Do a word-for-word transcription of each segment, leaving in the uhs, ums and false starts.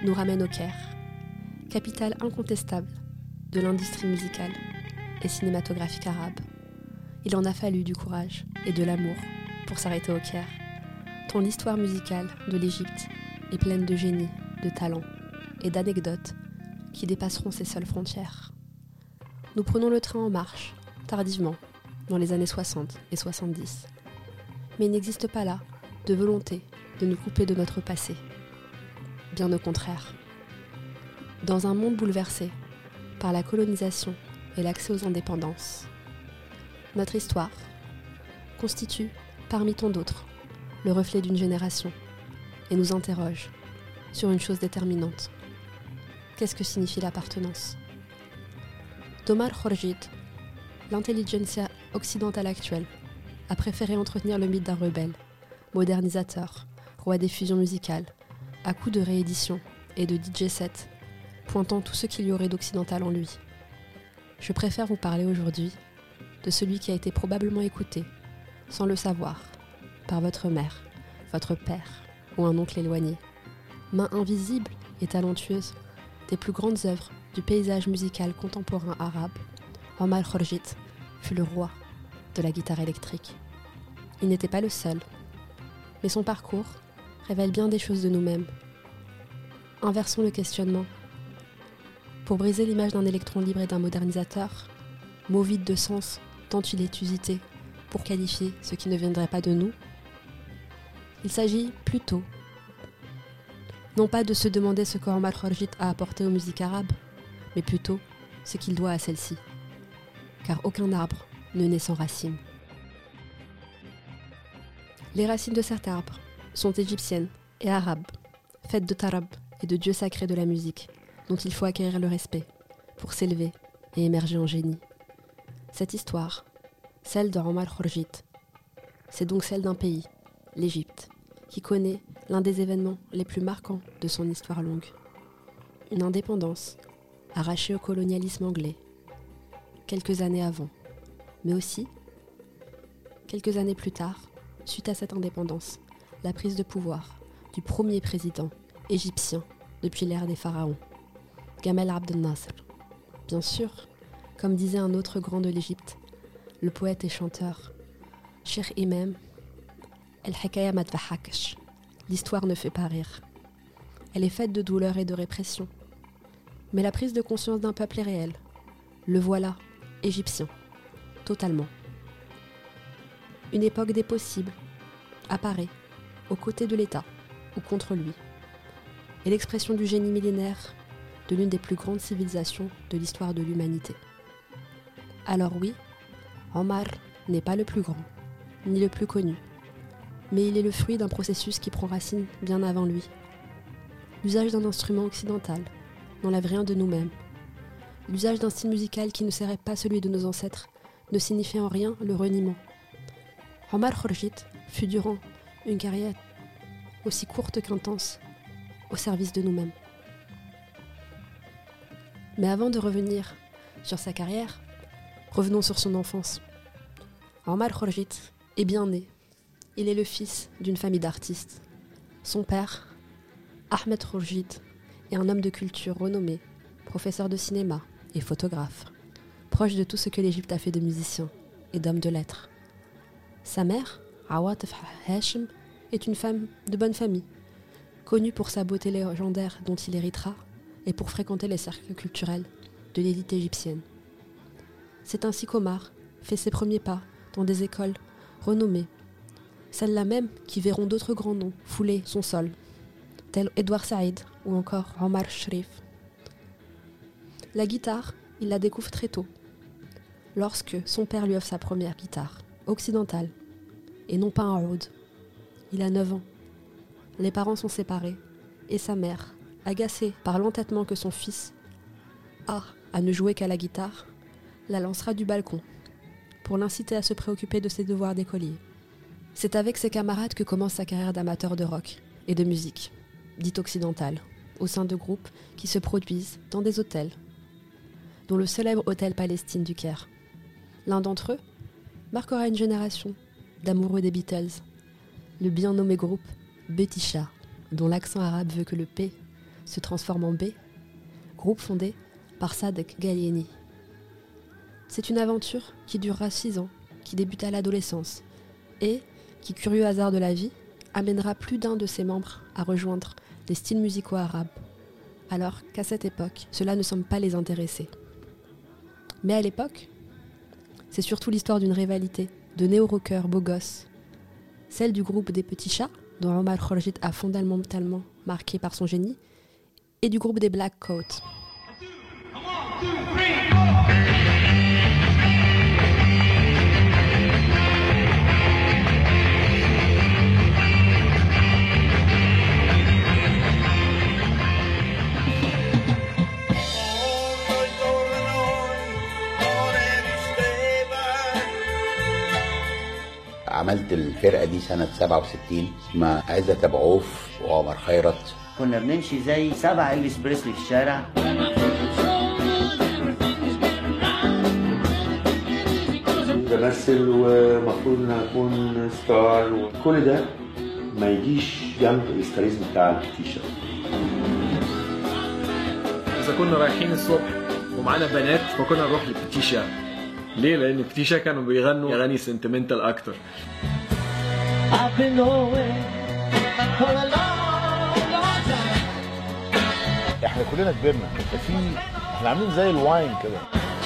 nous ramène au Caire, capitale incontestable de l'industrie musicale et cinématographique arabe. Il en a fallu du courage et de l'amour pour s'arrêter au Caire, tant l'histoire musicale de l'Égypte est pleine de génie, de talent et d'anecdotes qui dépasseront ses seules frontières. Nous prenons le train en marche, tardivement, dans les années soixante et soixante-dix. Mais il n'existe pas là de volonté de nous couper de notre passé. Bien au contraire. Dans un monde bouleversé par la colonisation et l'accès aux indépendances, notre histoire constitue, parmi tant d'autres, le reflet d'une génération et nous interroge sur une chose déterminante. Qu'est-ce que signifie l'appartenance ? Omar Khorjit, l'intelligentsia occidentale actuelle, a préféré entretenir le mythe d'un rebelle, modernisateur, roi des fusions musicales, à coups de rééditions et de D J sets, pointant tout ce qu'il y aurait d'occidental en lui. Je préfère vous parler aujourd'hui de celui qui a été probablement écouté, sans le savoir, par votre mère, votre père ou un oncle éloigné. Main invisible et talentueuse des plus grandes œuvres du paysage musical contemporain arabe, Omar Khorjit fut le roi de la guitare électrique. Il n'était pas le seul, mais son parcours révèle bien des choses de nous-mêmes. Inversons le questionnement. Pour briser l'image d'un électron libre et d'un modernisateur, mot vide de sens tant il est usité pour qualifier ce qui ne viendrait pas de nous, il s'agit plutôt non pas de se demander ce qu'Omar Khorjit a apporté aux musiques arabes, mais plutôt ce qu'il doit à celle-ci. Car aucun arbre ne naît sans racines. Les racines de cet arbre sont égyptiennes et arabes, faites de tarab et de dieux sacrés de la musique, dont il faut acquérir le respect pour s'élever et émerger en génie. Cette histoire, celle de Omar Khorjit, c'est donc celle d'un pays, l'Égypte, qui connaît l'un des événements les plus marquants de son histoire longue. Une indépendance arrachée au colonialisme anglais, quelques années avant, mais aussi, quelques années plus tard, suite à cette indépendance, la prise de pouvoir du premier président égyptien depuis l'ère des pharaons, Gamal Abdel Nasser. Bien sûr, comme disait un autre grand de l'Égypte, le poète et chanteur, Cheikh Imam, El-Hikaya ma tdhakash. L'histoire ne fait pas rire. Elle est faite de douleur et de répression. Mais la prise de conscience d'un peuple est réelle. Le voilà, égyptien, totalement. Une époque des possibles apparaît aux côtés de l'État ou contre lui. Et l'expression du génie millénaire de l'une des plus grandes civilisations de l'histoire de l'humanité. Alors oui, Omar n'est pas le plus grand, ni le plus connu, mais il est le fruit d'un processus qui prend racine bien avant lui. L'usage d'un instrument occidental n'enlève rien de nous-mêmes. L'usage d'un style musical qui ne serait pas celui de nos ancêtres ne signifie en rien le reniement. Omar Khorjit fut durant une carrière aussi courte qu'intense au service de nous-mêmes. Mais avant de revenir sur sa carrière, revenons sur son enfance. Omar Khorjit est bien né. Il est le fils d'une famille d'artistes. Son père, Ahmed Khorjit, est un homme de culture renommé, professeur de cinéma et photographe, proche de tout ce que l'Égypte a fait de musiciens et d'hommes de lettres. Sa mère, Awatif Hashim, est une femme de bonne famille, connue pour sa beauté légendaire dont il héritera et pour fréquenter les cercles culturels de l'élite égyptienne. C'est ainsi qu'Omar fait ses premiers pas dans des écoles renommées, celles-là même qui verront d'autres grands noms fouler son sol, tels Edouard Saïd ou encore Omar Sharif. La guitare, il la découvre très tôt, lorsque son père lui offre sa première guitare, occidentale, et non pas un oud. Il a neuf ans. Les parents sont séparés, et sa mère, agacée par l'entêtement que son fils a à ne jouer qu'à la guitare, la lancera du balcon, pour l'inciter à se préoccuper de ses devoirs d'écolier. C'est avec ses camarades que commence sa carrière d'amateur de rock et de musique, dite occidentale, au sein de groupes qui se produisent dans des hôtels, dont le célèbre hôtel Palestine du Caire. L'un d'entre eux marquera une génération d'amoureux des Beatles, le bien nommé groupe Betisha, dont l'accent arabe veut que le P se transforme en B, groupe fondé par Sadek Gallieni. C'est une aventure qui durera six ans, qui débute à l'adolescence et qui, curieux hasard de la vie, amènera plus d'un de ses membres à rejoindre les styles musicaux arabes, alors qu'à cette époque, cela ne semble pas les intéresser. Mais à l'époque, c'est surtout l'histoire d'une rivalité de néo-rockers beaux gosses, celle du groupe des Petits Chats, dont Omar Khodjit a fondamentalement marqué par son génie, et du groupe des Black Coats. عملت الفرقة دي سنة سبعة وستين مع عزت أبو عوف وعمر خيرت. كنا بنمشي زي سبع إلفيس بريسلي في الشارع. بمثل ومفروض ان اكون ستار وكل ده ما يجيش جنب الستاريزم بتاع التيشيرت. اذا كنا رايحين الصبح ومعانا بنات فكنا نروح للبتيشا. ليه؟ لان البتيشا كانوا بيغنوا اغاني سنتمنتال اكتر. احنا كلنا كبرنا، في احنا عاملين زي الواين كده.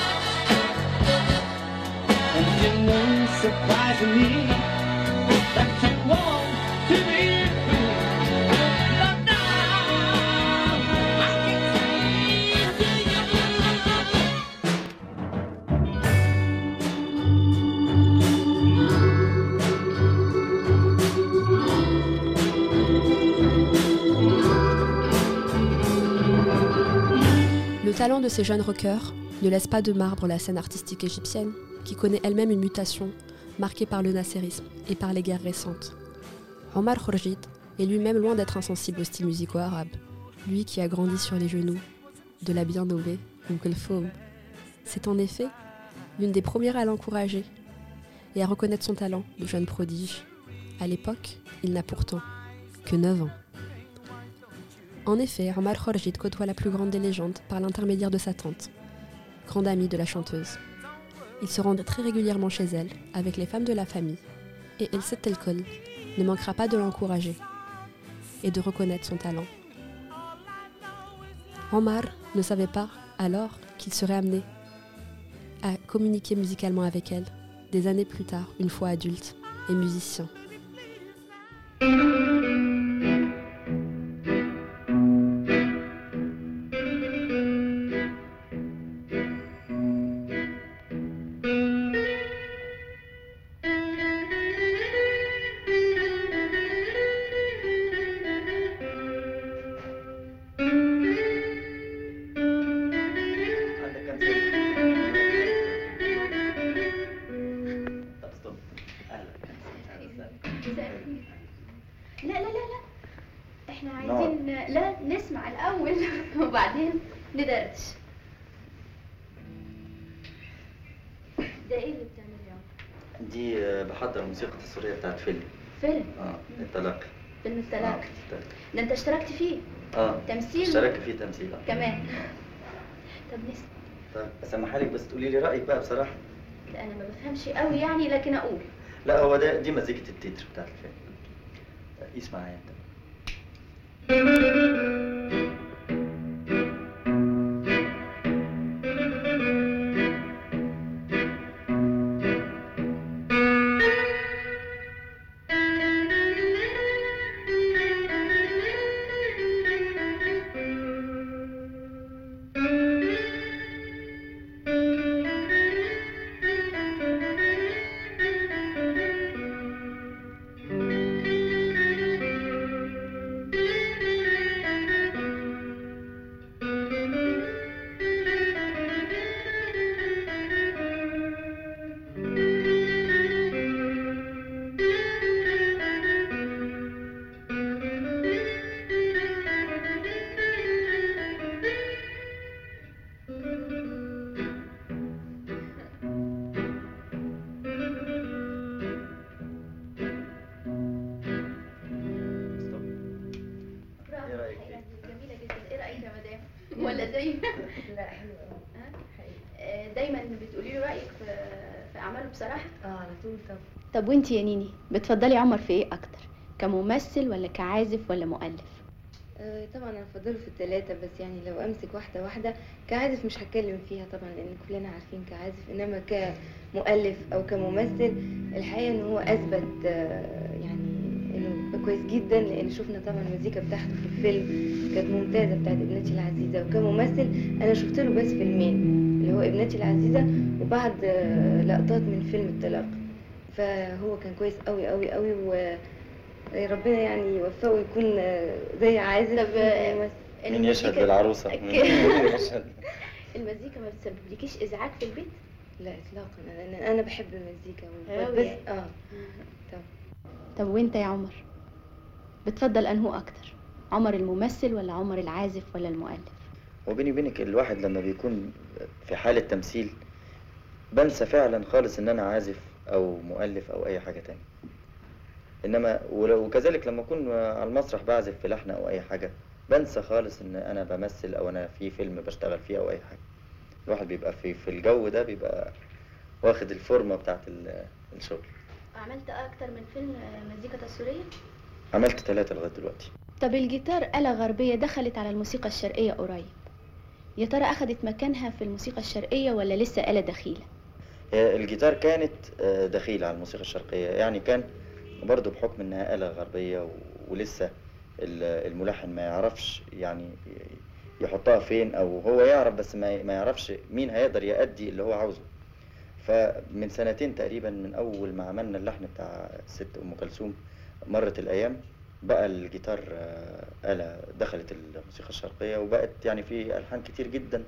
Le talent de ces jeunes rockers ne laisse pas de marbre la scène artistique égyptienne, qui connaît elle-même une mutation marquée par le nasserisme et par les guerres récentes. Omar Khodjit est lui-même loin d'être insensible aux styles musicaux arabes, lui qui a grandi sur les genoux de la bien nommée Umm Kulthum. C'est en effet l'une des premières à l'encourager et à reconnaître son talent de jeune prodige. À l'époque, il n'a pourtant que neuf ans. En effet, Omar Khodjit côtoie la plus grande des légendes par l'intermédiaire de sa tante, grande amie de la chanteuse. Il se rend très régulièrement chez elle, avec les femmes de la famille, et El Settelkol ne manquera pas de l'encourager et de reconnaître son talent. Omar ne savait pas alors qu'il serait amené à communiquer musicalement avec elle, des années plus tard, une fois adulte et musicien. لا لا لا لا احنا عايزين لا نسمع الاول وبعدين ندردش. ده ايه اللي بتعمله؟ دي بحضر موسيقى تصويريه بتاعت فيلم. فيلم؟ اه التلاقي. فيلم التلاقي. آه. ده انت اشتركت فيه؟ اه تمثيل؟ اشتركت فيه تمثيل كمان. طب نسمع. طيب اسمحها لك بس تقولي لي رايك بقى بصراحه. لا انا ما بفهمش قوي يعني لكن اقول. لا هو ده دي مزيكه التتر بتاعت الفيلم. اسمع يا انت. لا حلوة أوي. آه، دايما بتقولي له رايك في في اعماله بصراحه؟ اه على طول طبعا. طب وانتي يا نيني بتفضلي عمر في ايه اكتر؟ كممثل ولا كعازف ولا مؤلف؟ آه طبعا انا بفضله في الثلاثه، بس يعني لو امسك واحده واحده كعازف مش هتكلم فيها طبعا لان كلنا عارفين كعازف، انما كمؤلف او كممثل الحقيقه ان هو اثبت آه يعني انه كويس جدا، لان شفنا طبعا المزيكا بتاعته في الفيلم كانت ممتازه بتاعت ابنتي العزيزه. وكممثل انا شفت له بس فيلمين اللي هو ابنتي العزيزه وبعض آه لقطات من فيلم الطلاق، فهو كان كويس قوي قوي قوي و ربنا يعني يوفقه ويكون زي عازف. طب مين يشهد للعروسه؟ المزيكا ما بتسببلكيش ازعاج في البيت؟ لا اطلاقا، لان انا بحب المزيكا بس اه طب طب وانت يا عمر بتفضل انهو اكتر؟ عمر الممثل ولا عمر العازف ولا المؤلف؟ وبيني وبينك الواحد لما بيكون في حاله تمثيل بنسى فعلا خالص ان انا عازف او مؤلف او اي حاجه تانية، انما وكذلك لما اكون على المسرح بعزف في لحن او اي حاجه بنسى خالص ان انا بمثل او انا في فيلم بشتغل فيه او اي حاجه. الواحد بيبقى في في الجو ده بيبقى واخد الفورمه بتاعت الشغل. عملت اكتر من فيلم مزيكا تصويريه؟ عملت ثلاثة لغايه دلوقتي. طب الجيتار آلة غربيه دخلت على الموسيقى الشرقيه قريب، يا ترى اخذت مكانها في الموسيقى الشرقيه ولا لسه آلة دخيله؟ الجيتار كانت دخيله على الموسيقى الشرقيه، يعني كان برضه بحكم انها آلة غربية ولسه الملحن ما يعرفش يعني يحطها فين، او هو يعرف بس ما يعرفش مين هيقدر يأدي اللي هو عاوزه. فمن سنتين تقريبا من اول ما عملنا اللحن بتاع ست ام كلثوم مرت الايام بقى الجيتار آلة دخلت الموسيقى الشرقية وبقت يعني في ألحان كتير جدا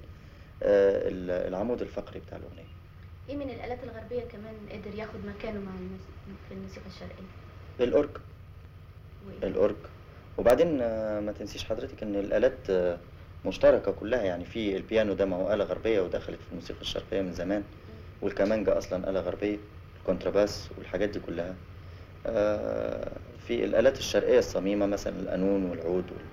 العمود الفقري بتاع الأغنية. ايه من الآلات الغربية كمان قدر ياخد مكانه مع في الموسيقى الشرقية؟ الأورج. الأورج. وبعدين ما تنسيش حضرتك ان الآلات مشتركة كلها، يعني في البيانو ده ما هو آلة غربية ودخلت في الموسيقى الشرقية من زمان، والكمانجا أصلا آلة غربية، الكونتراباس والحاجات دي كلها. في الآلات الشرقية الصميمة مثلا القانون والعود وال...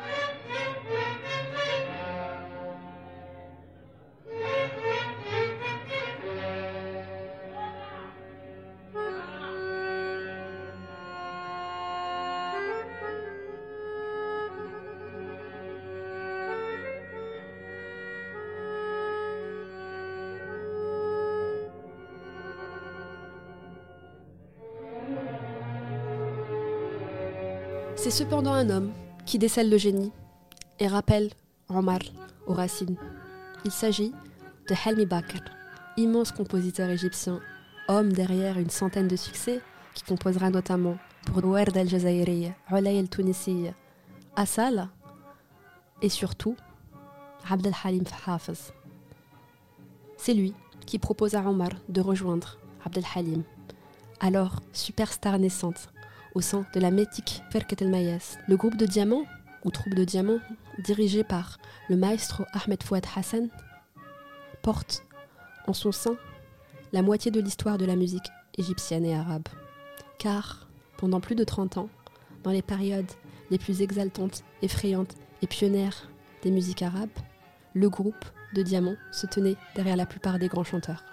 C'est cependant un homme qui décèle le génie et rappelle Omar aux racines. Il s'agit de Helmi Bakr, immense compositeur égyptien, homme derrière une centaine de succès, qui composera notamment pour Ouerda al-Jazairiya, Oulay al-Tunisiya, Asala et surtout Abd al-Halim Hafez. C'est lui qui propose à Omar de rejoindre Abd al-Halim, alors superstar naissante, au sein de la mythique Ferket el-Mayas, le groupe de diamants, ou troupe de diamants, dirigé par le maestro Ahmed Fouad Hassan, porte en son sein la moitié de l'histoire de la musique égyptienne et arabe. Car, pendant plus de trente ans, dans les périodes les plus exaltantes, effrayantes et pionnières des musiques arabes, le groupe de diamants se tenait derrière la plupart des grands chanteurs.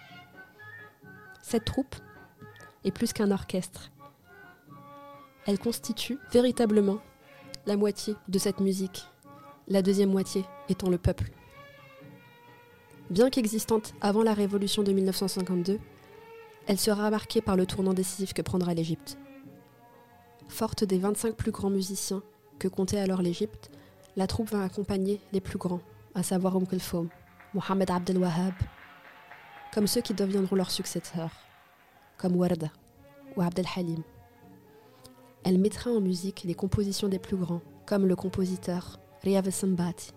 Cette troupe est plus qu'un orchestre. Elle constitue véritablement la moitié de cette musique, la deuxième moitié étant le peuple. Bien qu'existante avant la révolution de mille neuf cent cinquante-deux, elle sera marquée par le tournant décisif que prendra l'Égypte. Forte des vingt-cinq plus grands musiciens que comptait alors l'Égypte, la troupe va accompagner les plus grands, à savoir Umm Kulthum, Mohamed Abd el-Wahhab, comme ceux qui deviendront leurs successeurs, comme Warda ou Abd el-Halim. Elle mettra en musique les compositions des plus grands, comme le compositeur Riyad al-Sambati.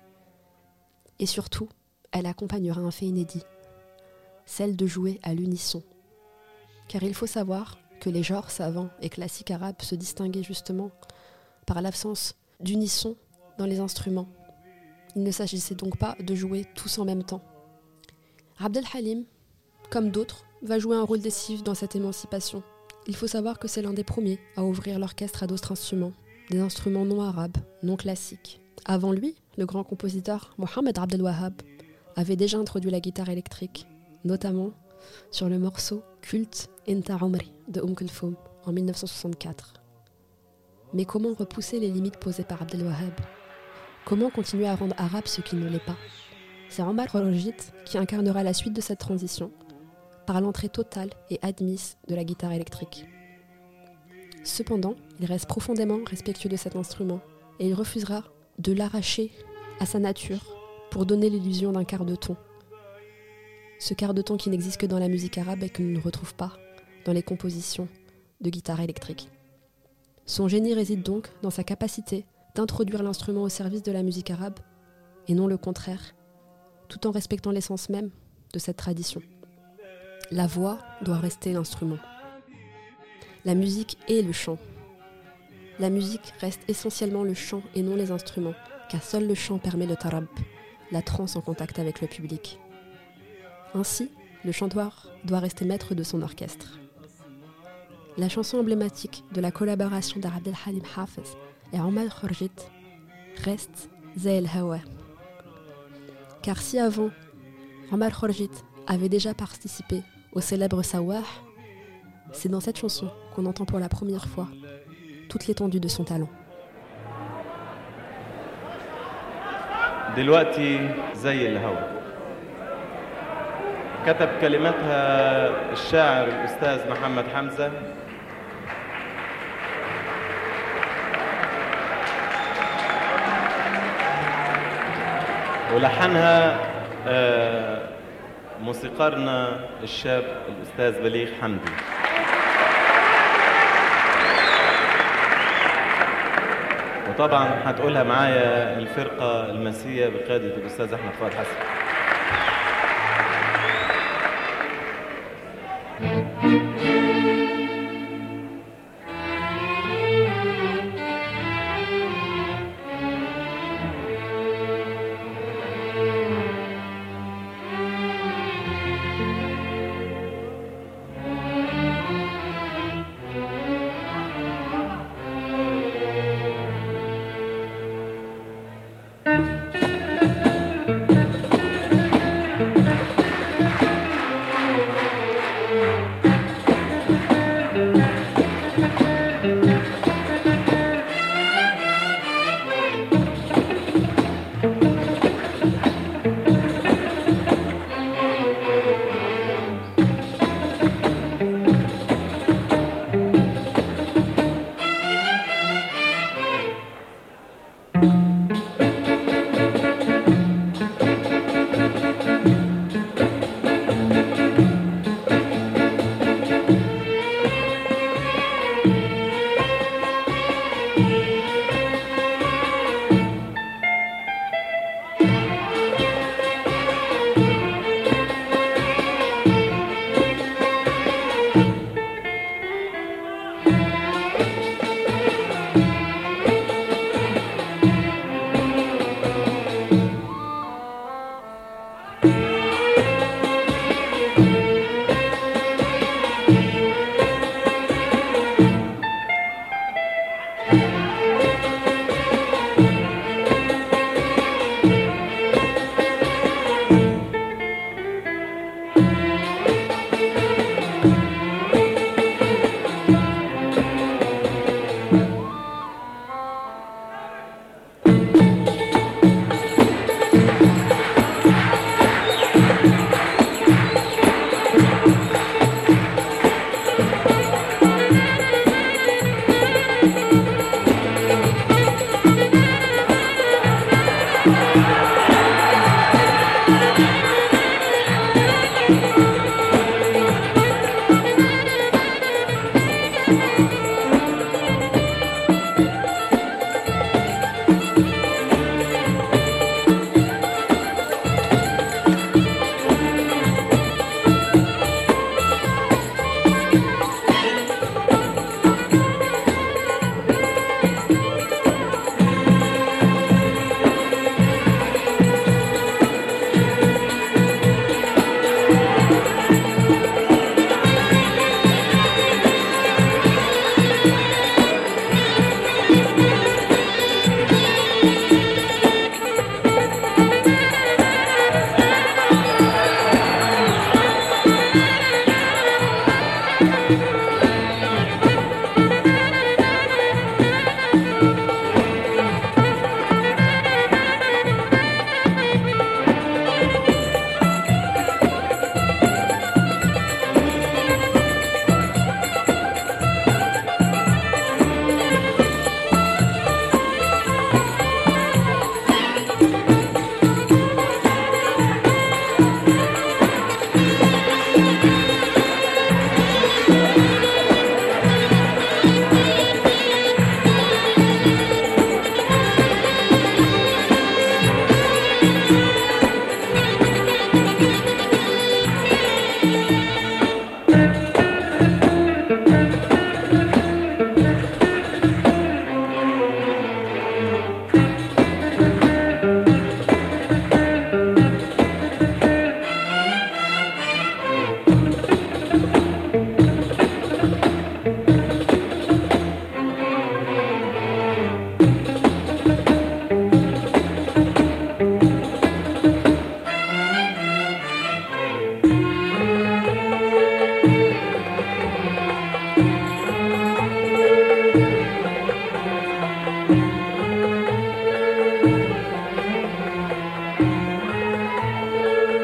Et surtout, elle accompagnera un fait inédit, celle de jouer à l'unisson. Car il faut savoir que les genres savants et classiques arabes se distinguaient justement par l'absence d'unisson dans les instruments. Il ne s'agissait donc pas de jouer tous en même temps. Abd el-Halim, comme d'autres, va jouer un rôle décisif dans cette émancipation. Il faut savoir que c'est l'un des premiers à ouvrir l'orchestre à d'autres instruments, des instruments non arabes, non classiques, Avant lui, le grand compositeur Mohamed Abdel Wahhab avait déjà introduit la guitare électrique, notamment sur le morceau culte Inta Umri de Umm Kulthum en mille neuf cent soixante-quatre. Mais comment repousser les limites posées par Abdel Wahhab ? Comment continuer à rendre arabe ce qui ne l'est pas ? C'est Omar Kharjit qui incarnera la suite de cette transition par l'entrée totale et admise de la guitare électrique. Cependant, il reste profondément respectueux de cet instrument et il refusera de l'arracher à sa nature pour donner l'illusion d'un quart de ton. Ce quart de ton qui n'existe que dans la musique arabe et que l'on ne retrouve pas dans les compositions de guitare électrique. Son génie réside donc dans sa capacité d'introduire l'instrument au service de la musique arabe et non le contraire, tout en respectant l'essence même de cette tradition. La voix doit rester l'instrument. La musique est le chant. La musique reste essentiellement le chant et non les instruments, car seul le chant permet le tarab, la transe en contact avec le public. Ainsi, le chanteur doit rester maître de son orchestre. La chanson emblématique de la collaboration d'Abdel Halim Hafez et Omar Kharjit reste Zay El Hawa. Car si avant, Omar Kharjit avait déjà participé au célèbre Sawah, c'est dans cette chanson qu'on entend pour la première fois toute l'étendue de son talent. دلوقتي زي الهوا كتب كلماتها الشاعر الأستاذ محمد حمزة ولحنها موسيقارنا الشاب الأستاذ بليغ حمدي. وطبعا هتقولها معايا الفرقة المسية بقيادة الأستاذ أحمد فؤاد حسن.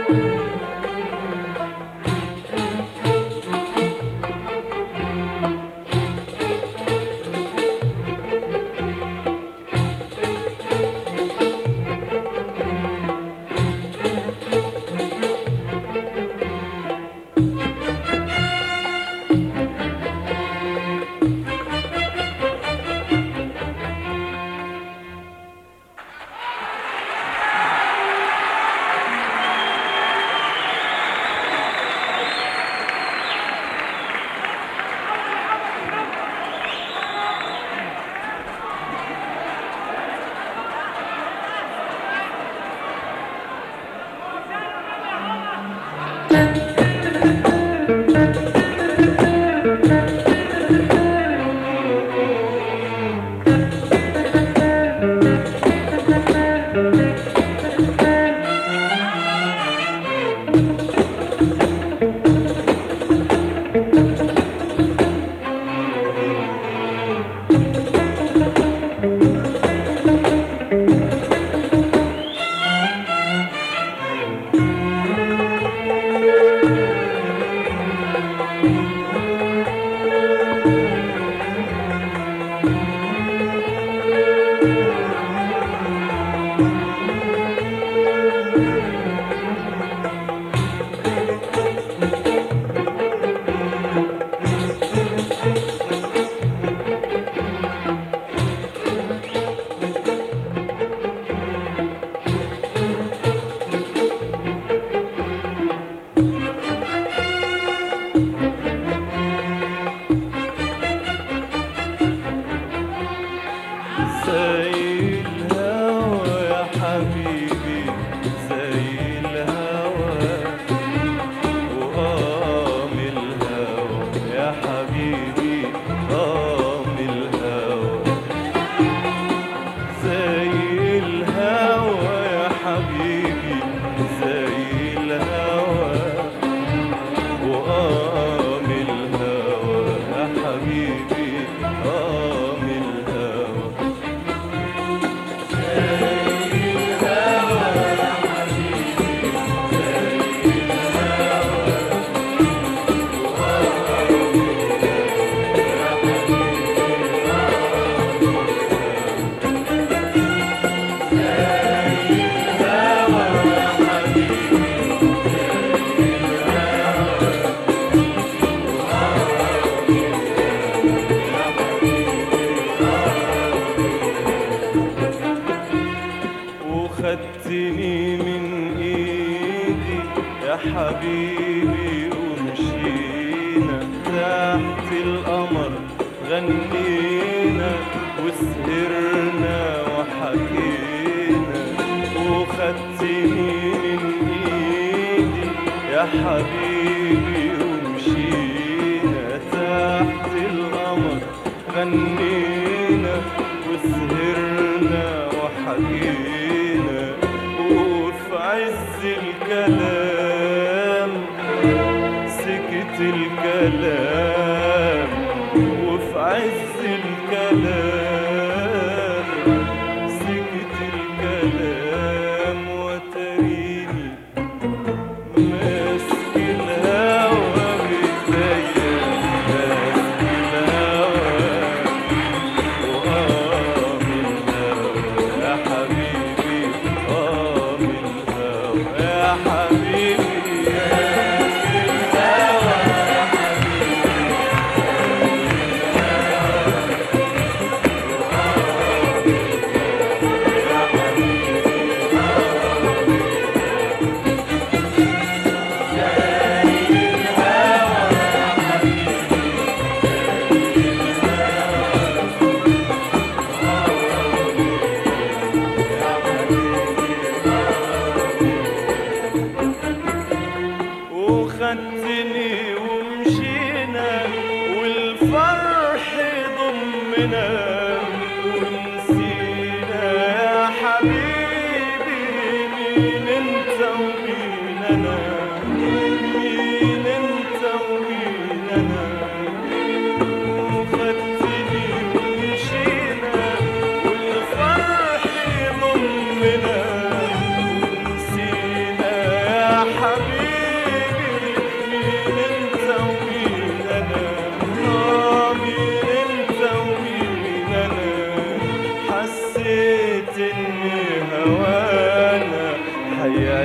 حبيبي ومشينا تحت القمر غنينا وسهرنا وحكينا وخدتني من ايدي يا حبيبي ومشينا تحت القمر غنينا وسهرنا وحكينا وفي عز الكلام سكت الكلام وفي عز الكلام سكت الكلام وتريني ماسك الهوى بإيديا ماسك الهوى وآه من الهوى يا حبيبي آه من الهوى يا حبيبي وخدتني ومشينا والفرح ضمنا ونسينا يا حبيبي مين انت ومين انا مين انت ومين انا وخدتني ومشينا والفرح ضمنا ونسينا يا حبيبي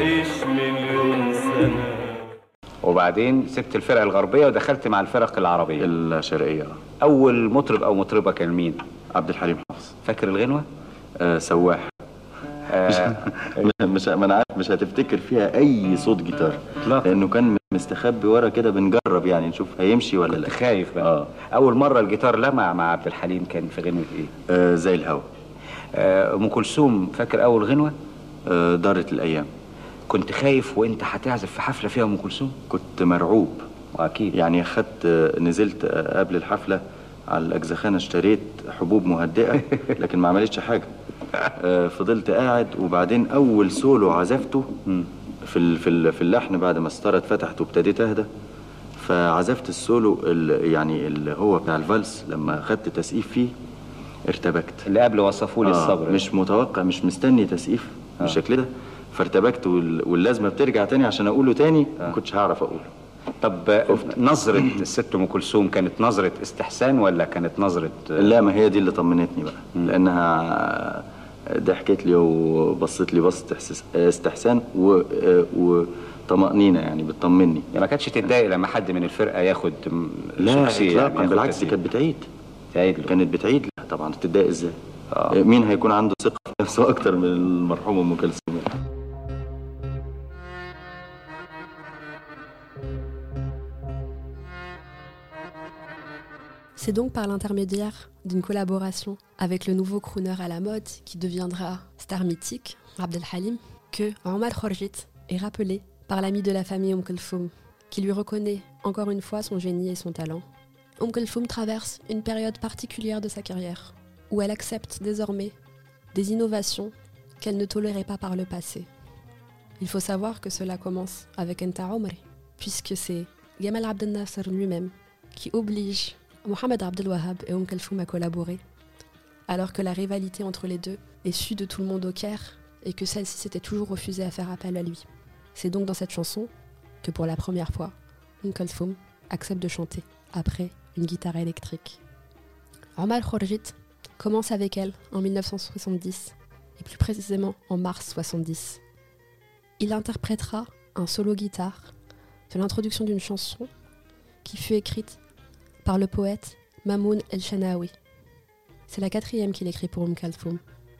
تعيش مليون سنة. وبعدين سبت الفرق الغربية ودخلت مع الفرق العربية الشرقية. أول مطرب أو مطربة كان مين؟ عبد الحليم حافظ. فاكر الغنوة؟ آه سواح. آه مش ما انا عارف مش هتفتكر فيها اي صوت جيتار لا. لانه كان مستخبي ورا كده، بنجرب يعني نشوف هيمشي ولا لا. خايف بقى. آه. اول مره الجيتار لمع مع عبد الحليم كان في غنوه ايه؟ آه زي الهوا. آه ام كلثوم فاكر اول غنوه؟ آه دارت الايام. كنت خايف وانت هتعزف في حفله فيها ام كلثوم؟ كنت مرعوب. واكيد يعني خدت نزلت قبل الحفله على الاجزخانه اشتريت حبوب مهدئه لكن ما عملتش حاجه. آه فضلت قاعد، وبعدين اول سولو عزفته في في في اللحن بعد ما الستاره اتفتحت وابتديت اهدى، فعزفت السولو اللي يعني اللي هو بتاع الفالس لما خدت تسقيف فيه ارتبكت. اللي قبل وصفوا لي آه الصبر. مش متوقع، مش مستني تسقيف آه. بالشكل ده، فارتبكت واللازمه بترجع تاني عشان اقوله تاني آه. ما كنتش هعرف اقوله. طب نظرة الست ام كلثوم كانت نظرة استحسان ولا كانت نظرة؟ لا، ما هي دي اللي طمنتني بقى، م. لانها ضحكت لي وبصت لي بصت استحسان وطمأنينة، يعني بتطمني. يعني ما كانتش تتضايق لما حد من الفرقة ياخد لا اطلاقا، يعني بالعكس دي كانت بتعيد تعيد كانت بتعيد لا طبعا تتضايق ازاي؟ آه. مين هيكون عنده ثقة في نفسه اكتر من المرحومة ام كلثوم؟ C'est donc par l'intermédiaire d'une collaboration avec le nouveau crooner à la mode qui deviendra star mythique, Abd el-Halim, que Omar Khorjit est rappelé par l'ami de la famille Oum Kulthum, qui lui reconnaît encore une fois son génie et son talent. Oum Kulthum traverse une période particulière de sa carrière, où elle accepte désormais des innovations qu'elle ne tolérait pas par le passé. Il faut savoir que cela commence avec Enta Omri, puisque c'est Gamal Abdel Nasser lui-même qui oblige Mohamed Abdel Wahab et Oum Kulthum a collaboré, alors que la rivalité entre les deux est su de tout le monde au Caire et que celle-ci s'était toujours refusée à faire appel à lui. C'est donc dans cette chanson que pour la première fois, Oum Kulthum accepte de chanter après une guitare électrique. Omar Khorjit commence avec elle en mille neuf cent soixante-dix et plus précisément en mars soixante-dix. Il interprétera un solo guitare de l'introduction d'une chanson qui fut écrite par le poète Mamoun El-Shanawi. C'est la quatrième qu'il écrit pour Oum Kulthum.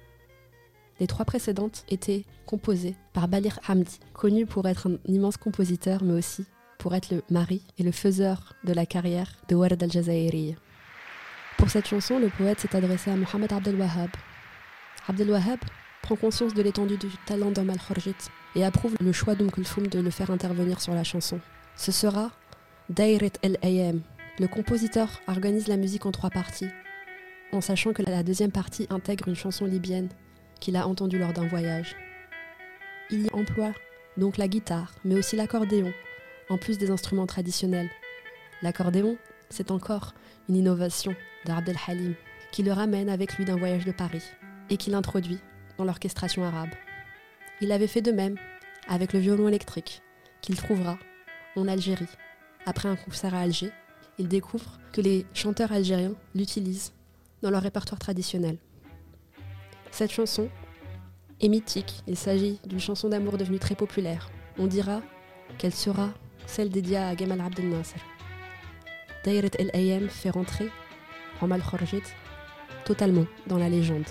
Les trois précédentes étaient composées par Baligh Hamdi, connu pour être un immense compositeur, mais aussi pour être le mari et le faiseur de la carrière de Ward al-Jazairi. Pour cette chanson, le poète s'est adressé à Mohamed Abdel Wahab. Abdel Wahab prend conscience de l'étendue du talent d'Omar Khorjit et approuve le choix d'Oum Kulthum de le faire intervenir sur la chanson. Ce sera Dairet el-Ayam. Le compositeur organise la musique en trois parties, en sachant que la deuxième partie intègre une chanson libyenne qu'il a entendue lors d'un voyage. Il y emploie donc la guitare, mais aussi l'accordéon, en plus des instruments traditionnels. L'accordéon, c'est encore une innovation d'Abd el-Halim, qui le ramène avec lui d'un voyage de Paris et qui l'introduit dans l'orchestration arabe. Il avait fait de même avec le violon électrique, qu'il trouvera en Algérie. Après un concert à Alger, il découvre que les chanteurs algériens l'utilisent dans leur répertoire traditionnel. Cette chanson est mythique, il s'agit d'une chanson d'amour devenue très populaire. On dira qu'elle sera celle dédiée à Gamal Abdel Nasser. Dairet el-Ayam fait rentrer Omar Khorjit totalement dans la légende.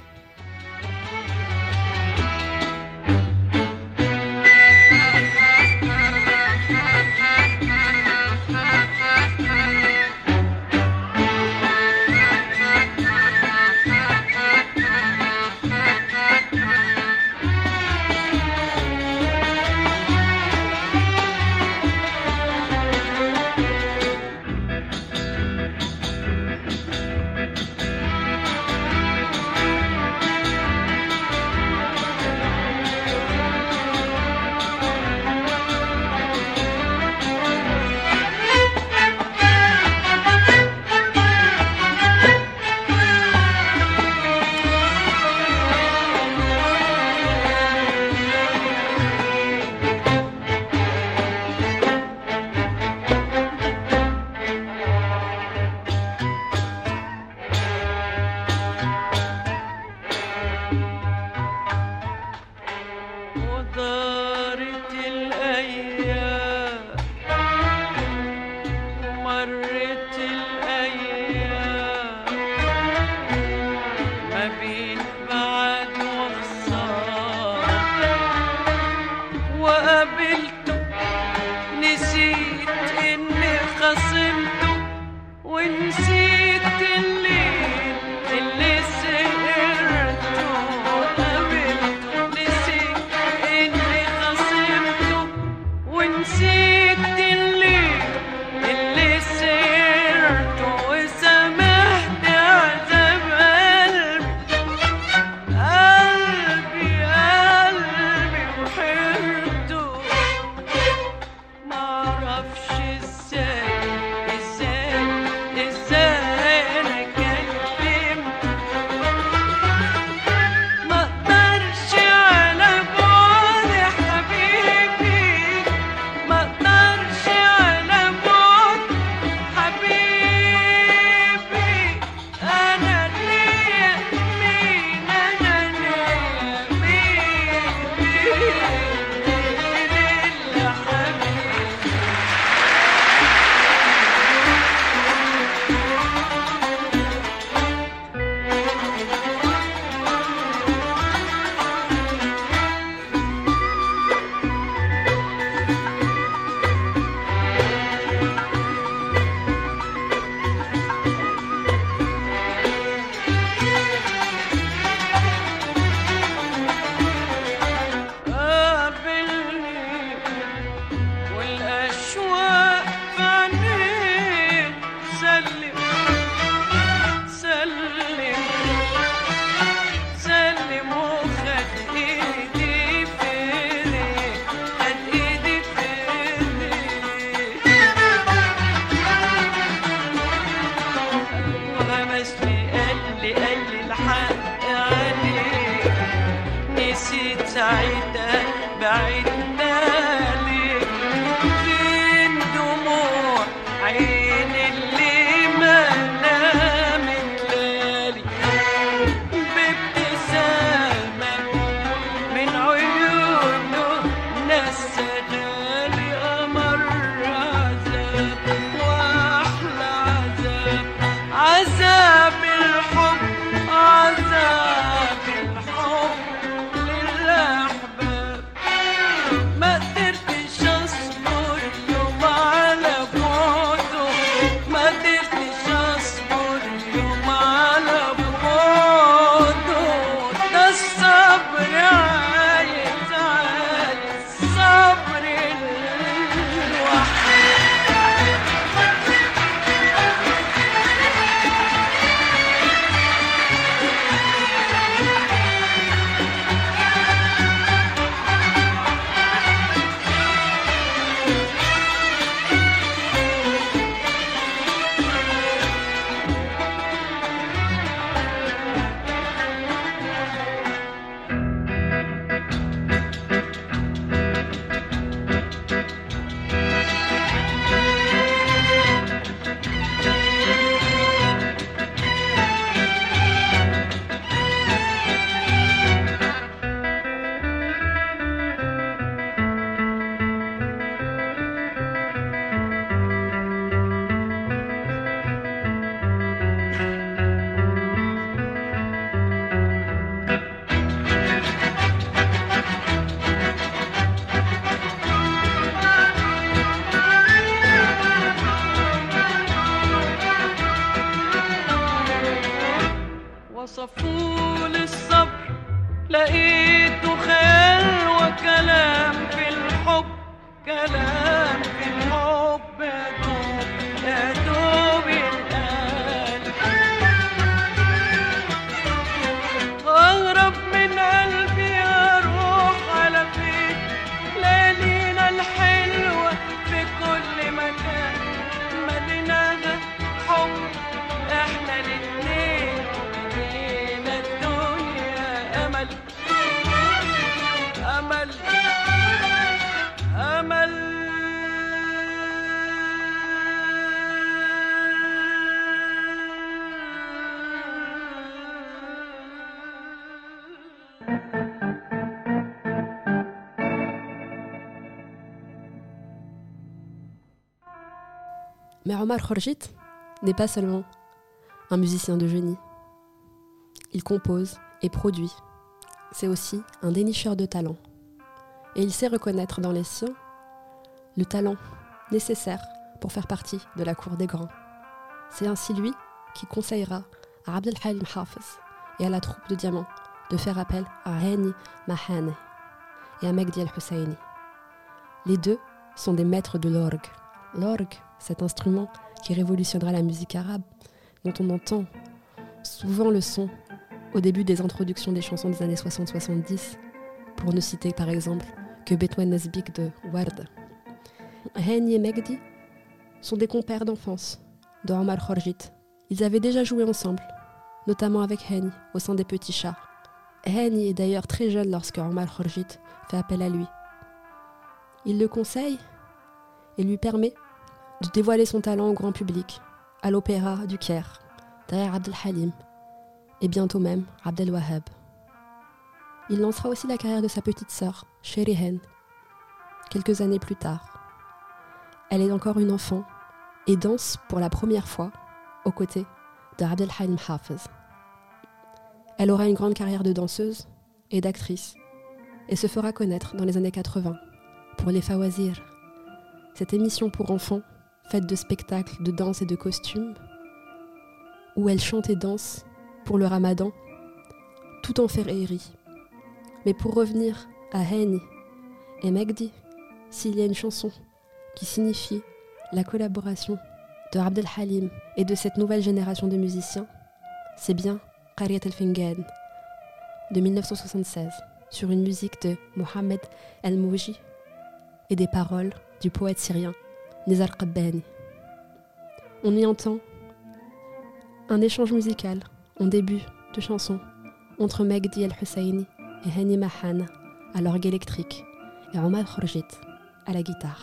قابلته نسيت إني خصمته ونسيت الليل اللي سهرته قابلته نسيت إني خصمته ونسيت الليل اللي سهرته وسامحت عذاب قلبي قلبي قلبي وحيرته معرفش ازاي ازاي ازاي انا كلمت مقدرش على بعد حبيبي مقدرش على بعد حبيبي انا ليا مين انا ليا مين مين اللي حبيبي قابلني والأشواق في عينيه سلم سلم سلم وخد إيدي في إيديه خد إيدي في إيديه وغمسني قال لي قال لي الحق عليك نسيت ساعتها بعدنا ليك فين دموع عين اللي ما نامت ليالي بابتسامة من عيونه نسدالي قمر عذاب واحلى عذاب عذاب الحب عذاب الحب للأحباب ما قدرتش أصبر يوم على بعده ما قدرتش أصبر يوم على بعده ده الصبر عايز عايز صبر الوحيد وصفولي الصبر لقيته خيال وكلام في الحب كلام في الحب يا دوب يا دوب ينقال أغرب من قلبي أروح على فين ليالينا الحلوة في كل مكان مدينة حب احنا الاتنين مدينة الدنيا أمل أمل أمل Mais Omar Khorjit n'est pas seulement un musicien de génie. Il compose et produit. C'est aussi un dénicheur de talent. et il sait reconnaître dans les siens le talent nécessaire pour faire partie de la cour des grands. C'est ainsi lui qui conseillera à Abd el-Halim Hafez et à la troupe de Diamant de faire appel à Hani Mahane et à Megdi el-Husseini. Les deux sont des maîtres de l'orgue. L'orgue, cet instrument qui révolutionnera la musique arabe, dont on entend souvent le son au début des introductions des chansons des années soixante soixante-dix, pour ne citer par exemple que Betwen Nesbik de Ward. Hani et Megdi sont des compères d'enfance de Omar Khorjit. Ils avaient déjà joué ensemble, notamment avec Hani au sein des Petits Chats. Hani est d'ailleurs très jeune lorsque Omar Khorjit fait appel à lui. Il le conseille et lui permet de dévoiler son talent au grand public, à l'opéra du Caire, derrière Abd el-Halim, et bientôt même Abd el-Wahhab. Il lancera aussi la carrière de sa petite sœur, Sherihan, quelques années plus tard. Elle est encore une enfant et danse pour la première fois aux côtés de Abd el-Halim Hafez. Elle aura une grande carrière de danseuse et d'actrice et se fera connaître dans les années quatre-vingts pour les Fawazir, cette émission pour enfants faite de spectacles de danse et de costumes où elle chante et danse pour le ramadan tout en féerie. Mais pour revenir à Hani et Megdi, s'il y a une chanson qui signifie la collaboration de Abd el-Halim et de cette nouvelle génération de musiciens, c'est bien Qaryat el-Fingan de mille neuf cent soixante-seize, sur une musique de Mohamed El-Mouji et des paroles du poète syrien Nizar Qabbani. On y entend un échange musical en début de chanson entre Megdi el-Husseini et Hani Mahane à l'orgue électrique et Omar Khorjit à la guitare.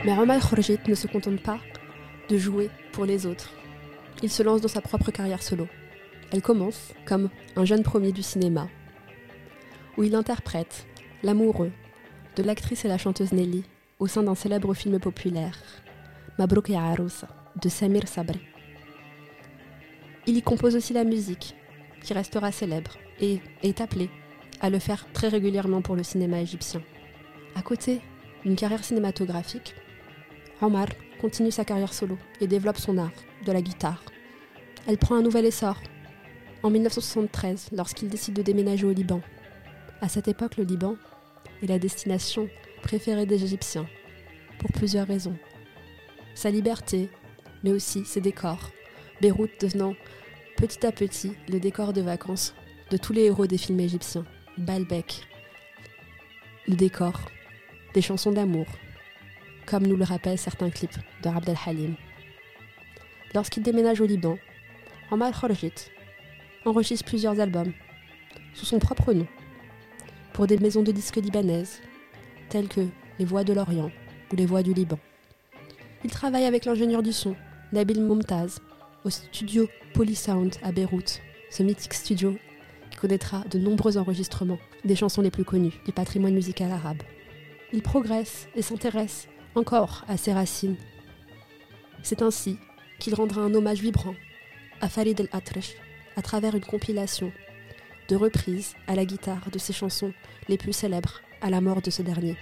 Mais Omar Khorjit ne se contente pas de jouer pour les autres. Il se lance dans sa propre carrière solo. Elle commence comme un jeune premier du cinéma, où il interprète l'amoureux de l'actrice et la chanteuse Nelly au sein d'un célèbre film populaire, Mabrouk ya Arousa, de Samir Sabri. Il y compose aussi la musique, qui restera célèbre, et est appelé à le faire très régulièrement pour le cinéma égyptien. À côté d'une carrière cinématographique, Omar continue sa carrière solo et développe son art de la guitare. Elle prend un nouvel essor en dix-neuf cent soixante-treize lorsqu'il décide de déménager au Liban. À cette époque, le Liban est la destination préférée des Égyptiens pour plusieurs raisons. Sa liberté, mais aussi ses décors, Beyrouth devenant petit à petit le décor de vacances de tous les héros des films égyptiens. Baalbek, le décor des chansons d'amour, comme nous le rappellent certains clips de Abd el-Halim. Lorsqu'il déménage au Liban, Omar Khorjit enregistre plusieurs albums sous son propre nom pour des maisons de disques libanaises telles que Les Voix de l'Orient ou Les Voix du Liban. Il travaille avec l'ingénieur du son Nabil Momtaz au studio Polysound à Beyrouth, ce mythique studio qui connaîtra de nombreux enregistrements des chansons les plus connues du patrimoine musical arabe. Il progresse et s'intéresse encore à ses racines. C'est ainsi qu'il rendra un hommage vibrant à Farid el-Atrash à travers une compilation de reprises à la guitare de ses chansons les plus célèbres à la mort de ce dernier.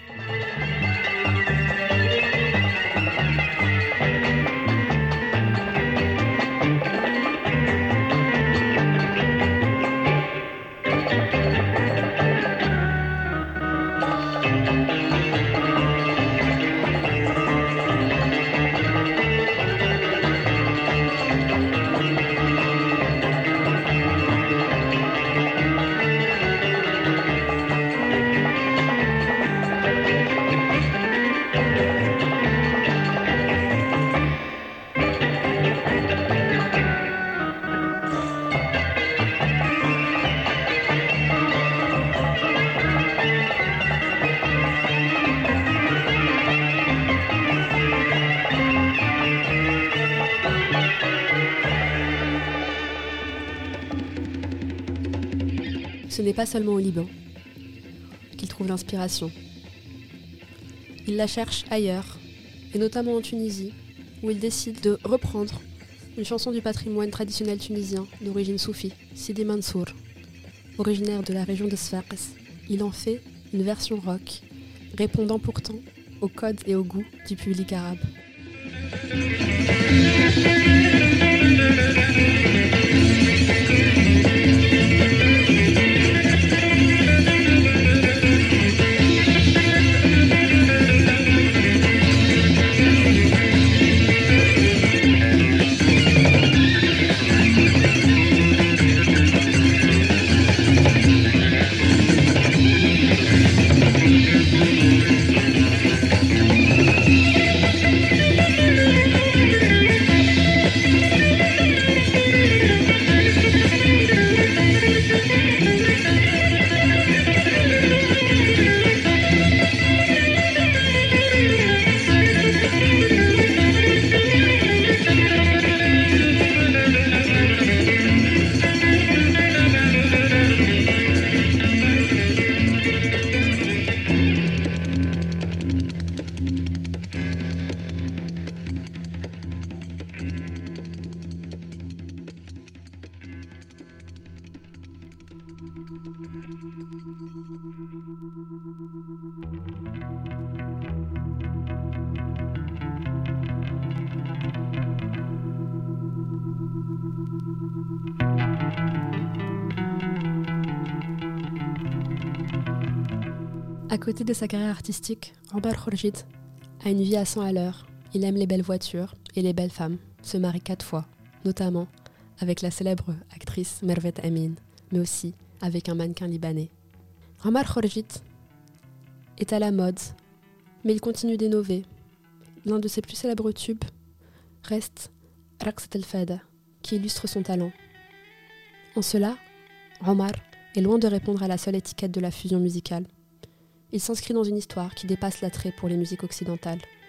Ce n'est pas seulement au Liban qu'il trouve l'inspiration. Il la cherche ailleurs, et notamment en Tunisie, où il décide de reprendre une chanson du patrimoine traditionnel tunisien d'origine soufie, Sidi Mansour. Originaire de la région de Sfax, il en fait une version rock, répondant pourtant aux codes et au goût du public arabe. À côté de sa carrière artistique, Omar Khorjit a une vie à cent à l'heure. Il aime les belles voitures et les belles femmes, se marie quatre fois, notamment avec la célèbre actrice Mervet Amin, mais aussi avec un mannequin libanais. Omar Khorjit est à la mode, mais il continue d'innover. L'un de ses plus célèbres tubes reste Raqsat al-Fada, qui illustre son talent. En cela, Omar est loin de répondre à la seule étiquette de la fusion musicale. Il s'inscrit dans une histoire qui dépasse l'attrait pour les musiques occidentales.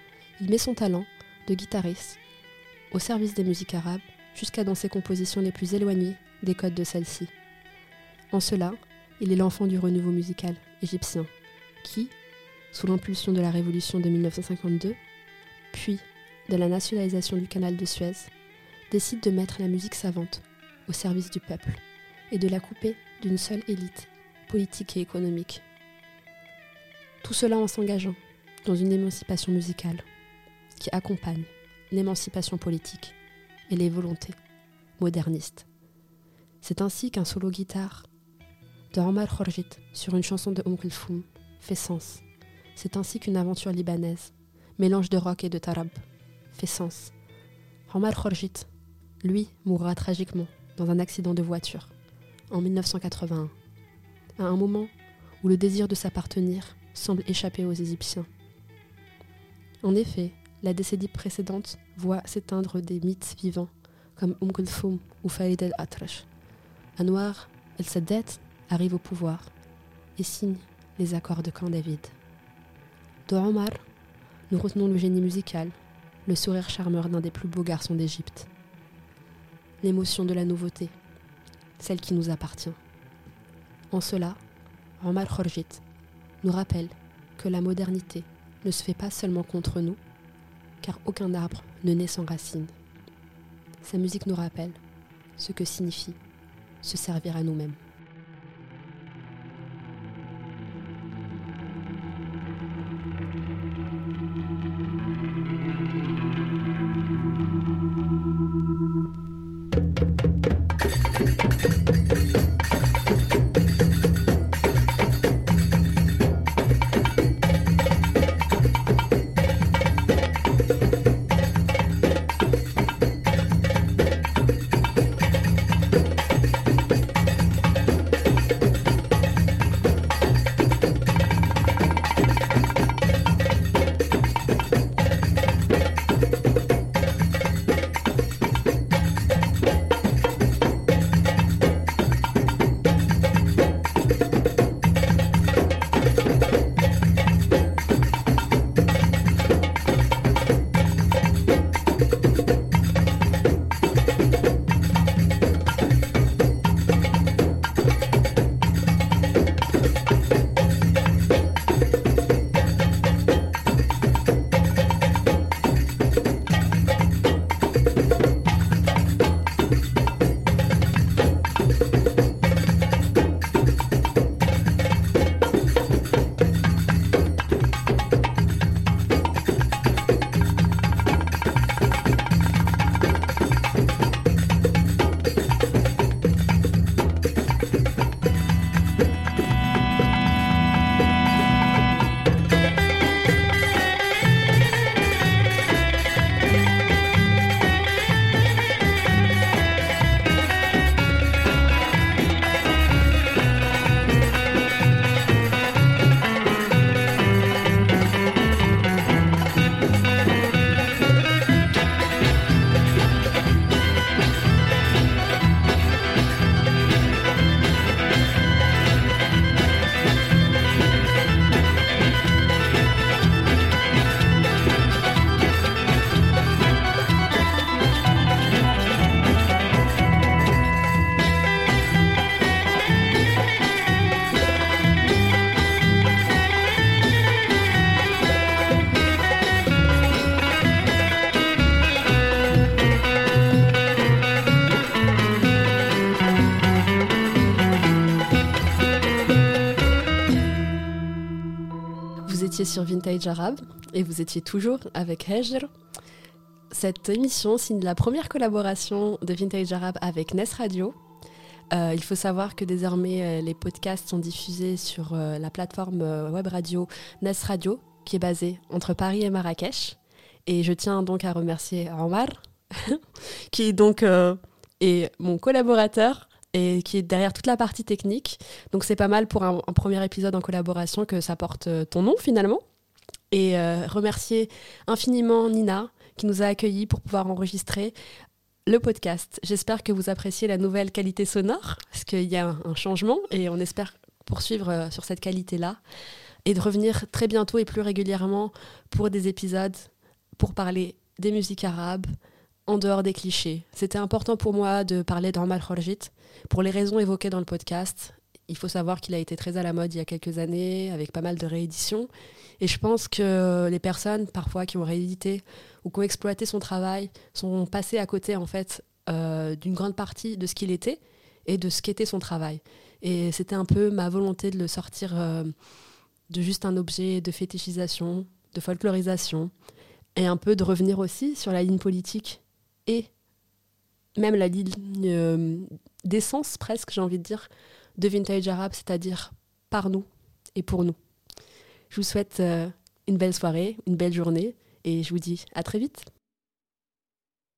il met son talent de guitariste au service des musiques arabes jusqu'à dans ses compositions les plus éloignées des codes de celles-ci. En cela, il est l'enfant du renouveau musical égyptien qui, sous l'impulsion de la révolution de mille neuf cent cinquante-deux, puis de la nationalisation du canal de Suez, décide de mettre la musique savante au service du peuple et de la couper d'une seule élite politique et économique. Tout cela en s'engageant dans une émancipation musicale qui accompagne l'émancipation politique et les volontés modernistes. C'est ainsi qu'un solo guitare de Omar Khorjit sur une chanson de Umm Kulthum fait sens. C'est ainsi qu'une aventure libanaise, mélange de rock et de tarab, fait sens. Omar Khorjit, lui, mourra tragiquement dans un accident de voiture en mille neuf cent quatre-vingt-un, à un moment où le désir de s'appartenir semble échapper aux Égyptiens. En effet, la décennie précédente voit s'éteindre des mythes vivants comme Umm Kulthum ou Farid el-Atrash. Anwar el-Sadat arrive au pouvoir et signe les accords de Camp David. De Omar, nous retenons le génie musical, le sourire charmeur d'un des plus beaux garçons d'Égypte, l'émotion de la nouveauté, celle qui nous appartient. En cela, Omar Khorjit nous rappelle que la modernité ne se fait pas seulement contre nous, car aucun arbre ne naît sans racines. Sa musique nous rappelle ce que signifie se servir à nous-mêmes. Sur Vintage Arabe et vous étiez toujours avec Hejr. Cette émission signe la première collaboration de Vintage Arabe avec Nes Radio. Euh, il faut savoir que désormais euh, les podcasts sont diffusés sur euh, la plateforme euh, web radio Nes Radio qui est basée entre Paris et Marrakech. Et je tiens donc à remercier Omar qui est donc euh, est mon collaborateur et qui est derrière toute la partie technique. Donc c'est pas mal pour un, un premier épisode en collaboration que ça porte ton nom finalement. Et euh, remercier infiniment Nina qui nous a accueillis pour pouvoir enregistrer le podcast. J'espère que vous appréciez la nouvelle qualité sonore, parce qu'il y a un, un changement et on espère poursuivre euh, sur cette qualité-là et de revenir très bientôt et plus régulièrement pour des épisodes pour parler des musiques arabes en dehors des clichés. C'était important pour moi de parler d'Omar Khorjit pour les raisons évoquées dans le podcast. Il faut savoir qu'il a été très à la mode il y a quelques années, avec pas mal de rééditions. Et je pense que les personnes, parfois, qui ont réédité ou qui ont exploité son travail, sont passées à côté, en fait, euh, d'une grande partie de ce qu'il était et de ce qu'était son travail. Et c'était un peu ma volonté de le sortir euh, de juste un objet de fétichisation, de folklorisation, et un peu de revenir aussi sur la ligne politique et même la ligne euh, d'essence, presque, j'ai envie de dire, de Vintage Arabe, c'est-à-dire par nous et pour nous. Je vous souhaite euh, une belle soirée, une belle journée, et je vous dis à très vite.